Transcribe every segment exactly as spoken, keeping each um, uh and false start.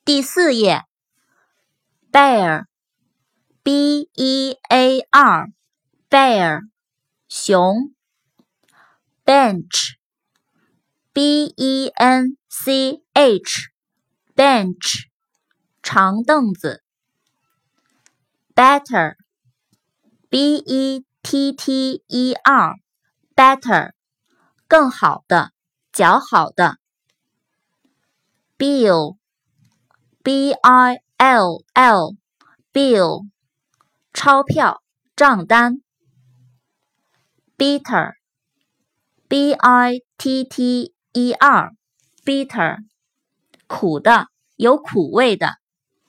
第四页 bear B E A R bear 熊 bench B E N C H bench 长凳子 better B E T T E R better 更好的较好的 bill B I L L bill 钞票账单 bitter B I T T E R bitter 苦的有苦味的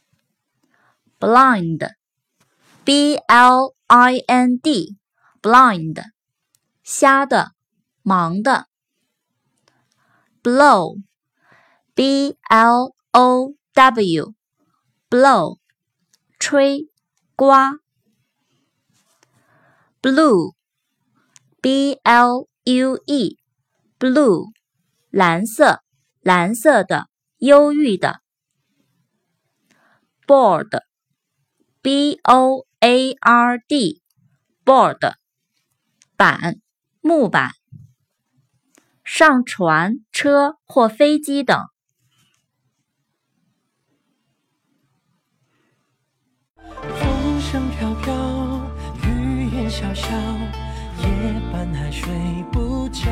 blind B L I N D blind 瞎的盲的 blow B L O W blow 吹刮 blue B L U E blue 蓝色蓝色的忧郁的 board B O A R D board 板木板上船车或飞机等风声飘飘雨烟潇潇夜半还睡不着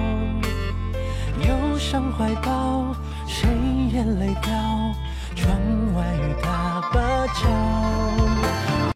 忧伤怀抱谁眼泪掉窗外雨打芭蕉